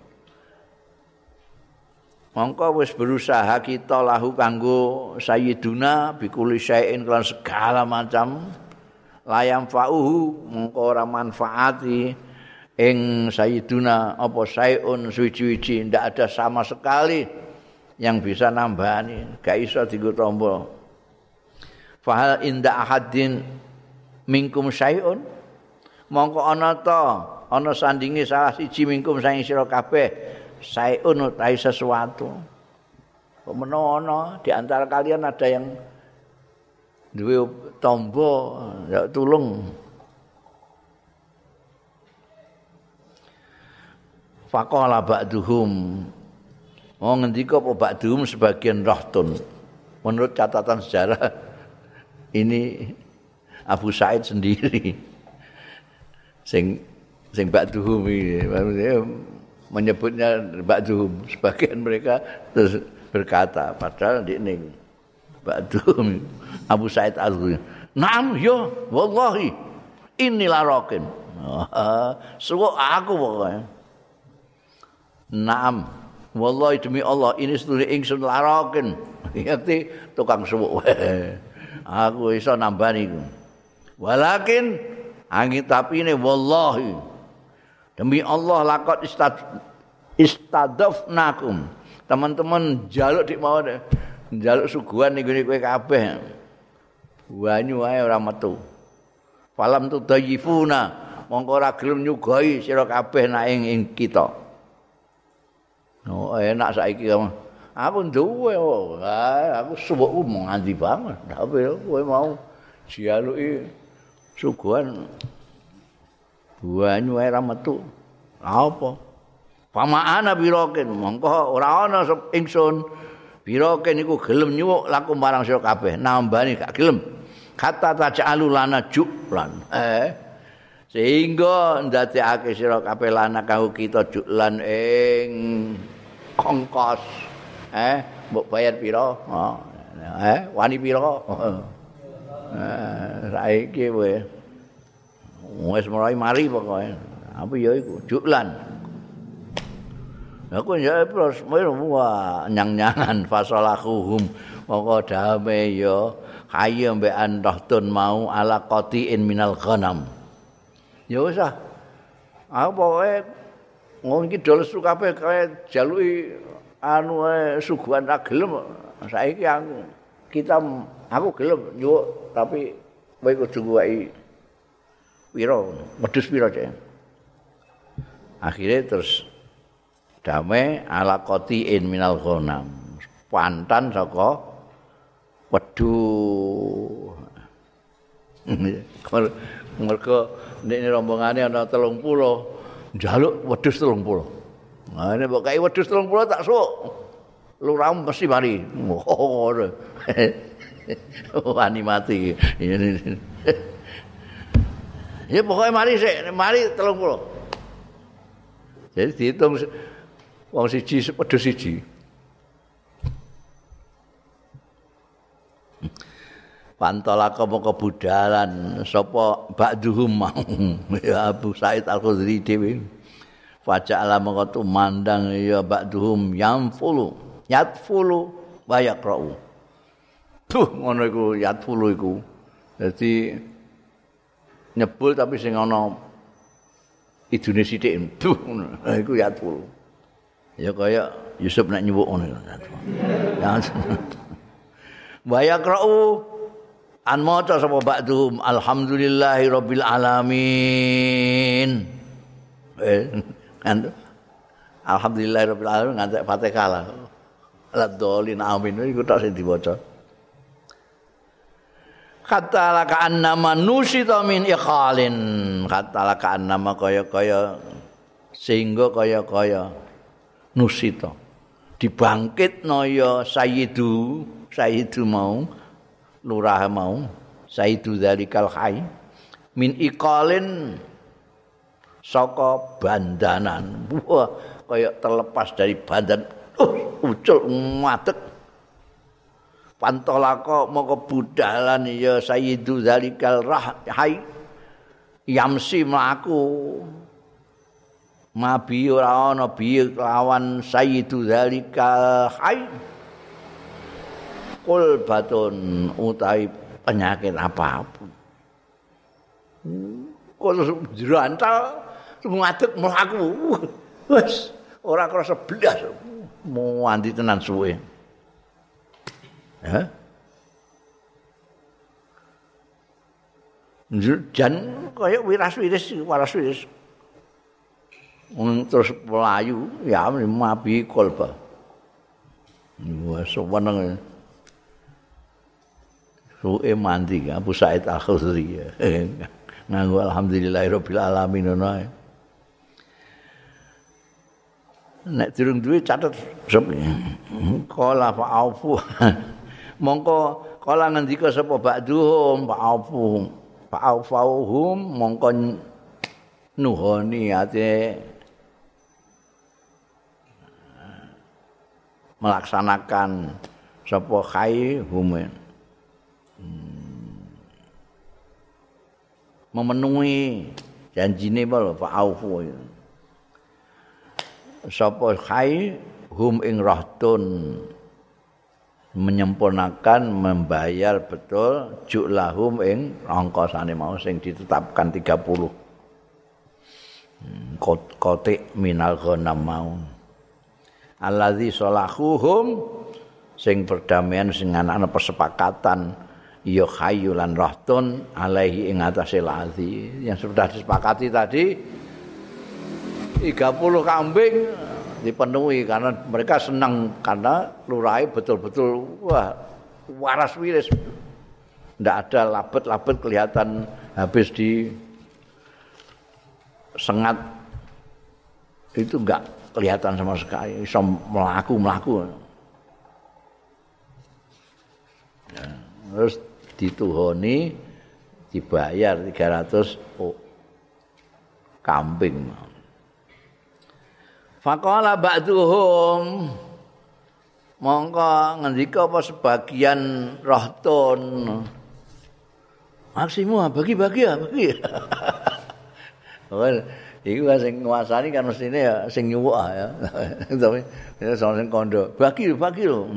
Mongko wis berusaha kita lahu kanggo sayyiduna bikulli syai'in kelan segala macam la yanfa'uhu mongko ora manfaati ing sayyiduna apa syai'un suwi-wiji ndak ada sama sekali yang bisa nambani, gak iso dienggo tombo. Fahal inda ahadin minkum syai'un mongko ana ta ana sandinge salah siji mingkum saing sira kabeh syai'un utahe sesuatu. Menawa di antara kalian ada yang duwe tombo ya tulung. Faqala ba'duhum oh ngendika apa ba'duhum sebagian rahtun. Menurut catatan sejarah ini Abu Sa'id sendiri sing sing ba'duhum ini menyebutnya ba'duhum, sebagian mereka terus berkata padahal di ini ba'duhum Abu Sa'id Al-Khudri na'am yo wallahi inilah rokin suwuk aku pokoknya na'am wallahi demi Allah ini sedulur ingsun larokin ngerti tukang suwuk aku iso nambani iku walakin angin tapi ini wallahi demi Allah lakot istad istadafnakum teman-teman jaluk dik mau jaluk suguhan niku kowe kabeh banyu ae ora metu falam tu dayifuna mongko ora gelem nyugoi sira kabeh nak ing, ing kita oh enak saiki aku duwe oh aku suwukku nganti banget tapi kowe mau jaluki suguhan banyu ae ra metu. Apa? Pamaana biroken mongko ora ana ingsun biroken iku gelem nyuwuk laku marang sira kabeh nambani gak gelem. Kata taj'alu lana juklan. Eh sehingga ndadekake sira kabeh lana kanggo kita juklan ing ongkos. Eh mbok bayar pira? Oh, eh wani pira? Eh saiki kowe wis mulai mari pokoke. Apa ya iku? Juklan. Aku ya terus wah nyang-nyangan fasalahuhum moko dame ya kaya mbek antahtun mau ala qatiin minal ghanam. Ya wis ah. Aku pokoke ngono iki dol su kabeh kaya jaluki anu ae suguhan ra gelem. Saiki aku kita aku gelem nyuwuk tapi kowe kudu nguwaki pira wedhus pira cek. Akhirnya terus damai ala qatiin minal ghanam. Pantan saka wedhu. Mergo ndekne rombongane ana telung puluh njaluk wedhus telung puluh. Nah ini mbok kai wedhus telung puluh tak sok. Lurah mesti mari. Oh. Wani mati. Ya pokoknya mari sik, mari telung puluh. Jadi dihitung wong siji wedhus siji. Pantolaka moko budalan sapa ba'duhum mau ya Abu Sa'id Al-Khudri dhewe. Faja'ala moko tumandang ya ba'duhum yamfulu yatfulu wa yaqra'u. Tuh ngono iku yatfulu iku. Dadi nyebul tapi sing ana idune sithik tuh ngono. Iku yatfulu. Ya kaya Yusuf nek nyuwuk ngono. Ya. Wa yaqra'u an maca sapa ba'dhum alhamdulillahirabbil alamin. Eh kan alhamdulillahirabbil alamin ngantek Fatihah lah. Ladolin amin iku tok sing diwaca. Kata laka annama nusita min ikhalin. Kata laka annama kaya-kaya sehingga kaya-kaya nusita. Dibangkitno ya sayyidu, sayyidu mau lurah mau, sayyidu dzalikal hayy min ikhalin saka bandanan. Wah, kaya terlepas dari badan. Uh, ucul ngadeg. Pantolaka moko budalan ya sayyidu zalikal rahai yamsi mlaku mabi ora ana biye lawan sayyidu zalikal hai kul batun utawi penyakit apapun kul jrantal ngadeg mlaku wis ora krasa blas muwanti tenan suwe ya jan kaya wiras-wiris waras-wiris terus melayu ya mabi kolba wis seneng suwe mandi Abu Said Al-Khudri nganggo alhamdulillahirabbil alamin ngono ae nek durung duwe catet sep kala fa'afu mongko kala ngendika sapa ba'duhum fa'afu fa'afauhum mongko nuhoni ate melaksanakan sapa khai humen memenuhi janjine lho fa'afu sapa khai hum ing rahtun menyempurnakan membayar betul ju'lahum ing ongkosane mau sing ditetapkan tiga puluh kotik minal ghanam mau allazi salahuhum sing perdamaian sing ana persepakatan ya khayulan rahtun alaihi ing atase lazi yang sudah disepakati tadi tiga puluh kambing dipenuhi karena mereka senang karena lurahe betul-betul wah waras wiris ndak ada labet-labet kelihatan habis di sengat itu enggak kelihatan sama sekali iso melaku-melaku ya, terus dituhoni dibayar tiga ratus oh, kambing faqala ba'duhum mongko ngendika apa sebagian rahtun maksimu bagi-bagi ya bagi well iku sing nguasani kan mestine ya sing nyuwuk ya tapi sing kondo bagi bagi lho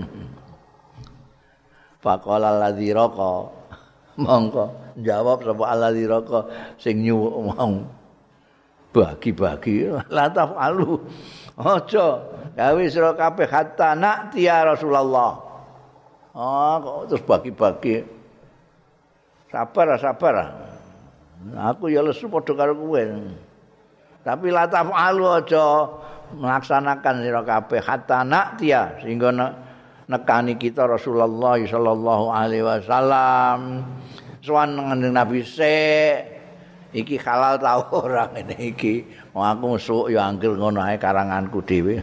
faqala alladzi raqa mongko jawab sapa alladzi raqa sing nyuwuk mau bagi-bagi la tafalu aja gawe sira kabeh hatta na'ti ya Rasulullah ah kok terus bagi-bagi sabar sabar aku ya lesu padha karo kowe tapi la tafalu aja melaksanakan sira kabeh hatta na'ti ya sehingga nekani kita Rasulullah sallallahu alaihi wasallam sowan ngendeng Nabi sik iki halal ta ora ngene iki wong aku mesuk ya anggel ngono ae karanganku dhewe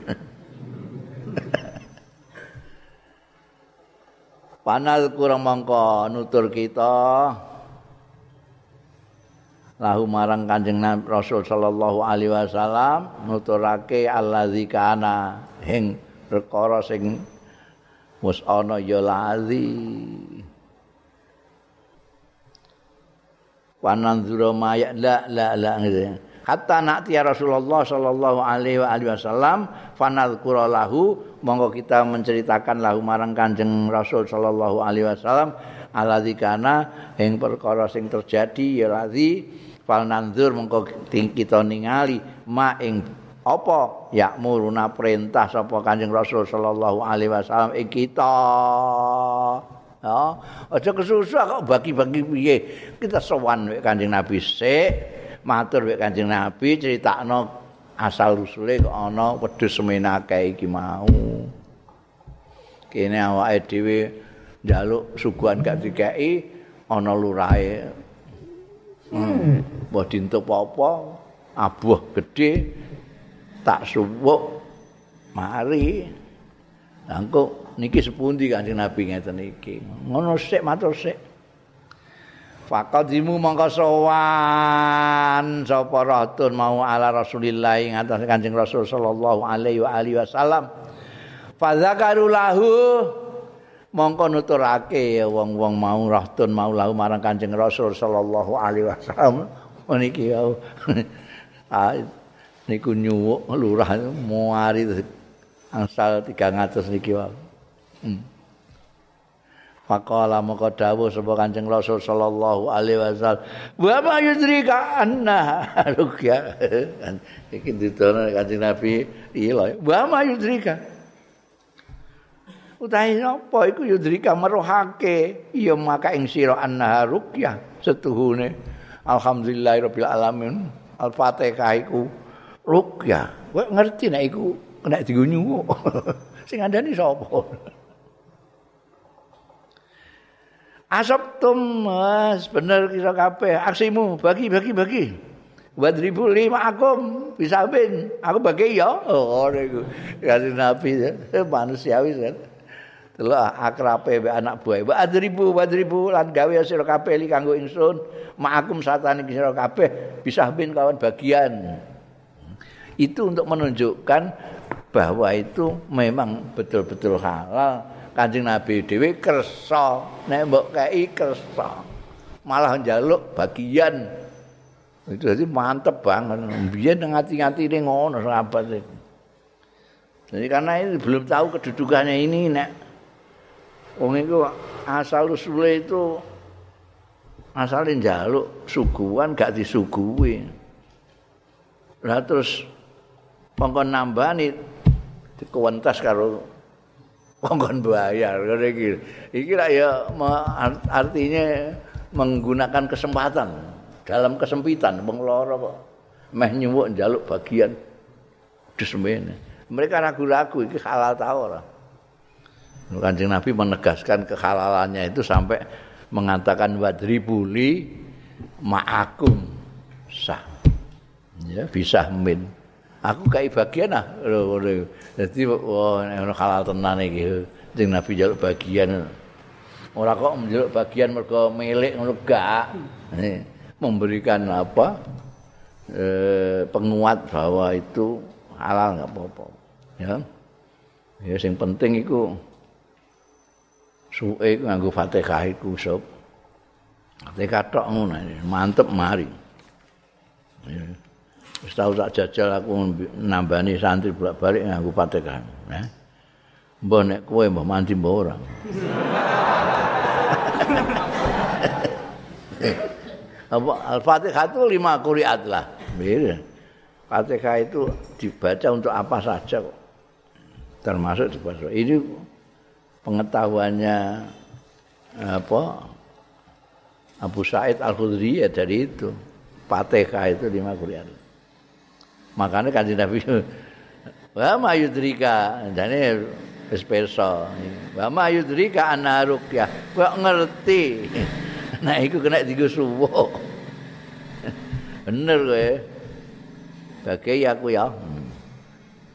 panal kurang mangka nutur kita lahu marang Kanjeng Nabi Rasul sallallahu alaihi wasallam nuturake allazi kana ing perkara sing wis ana ya lazi wananzura maya la la la gitu. Hatta na'ti ya Rasulullah sallallahu alaihi wa alihi wasallam fanadhkura lahu monggo kita menceritakan lahu marang Kanjeng Rasul sallallahu alaihi wasallam alladzi kana ing perkara sing terjadi ya lazi falnanzur monggo kita ningali ma ing apa yakmuruna perintah sapa Kanjeng Rasul sallallahu alaihi wasallam ing kita. Ya, aja kesusu kok bagi-bagi piye. Kita sowan wek Kanjeng Nabi sik, matur wek Kanjeng Nabi critakno asal usule kok ana wedhus semena kae iki mau. Kene awake dhewe njaluk suguhan gak dikeki ana lurahe. Hmm, mbah dintup apa abuh gedhe tak suwuk mari. Lah engko niki sepundi Kanjeng Nabi ngeten iki. Ngono sik matur sik. Faqadimu mongko sowan sapa rahtun mau ala Rasulillah ing atas Kanjeng Rasul sallallahu alaihi wa alihi wasallam. Fadzakaru lahu mongko nuturake ya wong-wong mau rahtun mau lahu marang Kanjeng Rasul sallallahu alaihi wasallam. Niki wau. Ah niku nyuwuk lurah muari angsal tiga ratus niki wau. Hmm. Faqala maka dawuh sapa Kanjeng Rasul sallallahu alaihi wasallam, "Wa ma yudrika anna ruqya." Iki ditono Kanjeng Nabi iki lho, "Wa ma yudrika." Utahe napa iku yudrika meruhake ya maka ing sira anna ruqya setuhune alhamdulillahirabbil alamin Al-Fatihah iku ruqya. Kowe ngerti nek iku nek dienggo nyuwuk. Sing ngandani sapa? Asabtum mas bener kira kabeh aksimu bagi bagi bagi wadribu lima akum bisa bin aku bagi ya oh niku kasih Nabi manusiawi kan delok akrabe mbek anak buah wadribu wadribu lan gawe sira kabeh li kanggo ingsun ma'akum satane sira kabeh bisa bin kawan bagian itu untuk menunjukkan bahwa itu memang betul-betul halal. Kanjeng Nabi dhewe kersa nek mbok kei kersa malah njaluk bagian itu jadi mantep banget biyen ngati-ngatine ngono sahabat itu jadi karena ini belum tahu kedudukannya ini nek wong iku asal usule itu asale njaluk suguhan gak disuguhi lah terus pengkon nambani dikewentas karo kongkon bayar ngene iki. Iki lah ya artinya menggunakan kesempatan dalam kesempitan wong lara kok meh nyuwuk njaluk bagian desmene. Mereka ragu-ragu iki halal ta ora. Kanjeng Nabi menegaskan kehalalannya itu sampai mengatakan wadribuli ma'akum sah. Ya bisa min. Aku kai bagian ah ngono. Dadi wah ono halal tenan iki. Sing Nabi njaluk bagian. Ora kok njaluk bagian mergo milik ngono gak. Memberikan apa? Eh, penguat bahwa itu halal enggak apa-apa. Ya. Ya sing penting iku suwe nganggo Fatihah iku sob. Fatihah tok ngono mantep mari. Ya. Wis tau tak jajal aku nambani santri bolak-balik nganggo Fatihah, ya. Mbah nek kowe mbah mandi mbah ora. Apa Al-Fatihah itu lima qiraat lah. Bener. Fatihah itu dibaca untuk apa saja kok. Termasuk dibaca. Ini pengetahuannya apa? Abu Sa'id Al-Khudri ya dari itu. Fatihah itu lima qiraat. Makanya Kanjeng Nabi wa ma yudrika jane wis pirsa wa ma yudrika ana ruqyah kok ngerti nek iku kena dienggo suwuk bener kowe bagi aku ya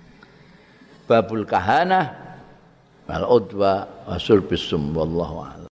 babul kahanah wal udwa wa surbis sum wallahu a'lam.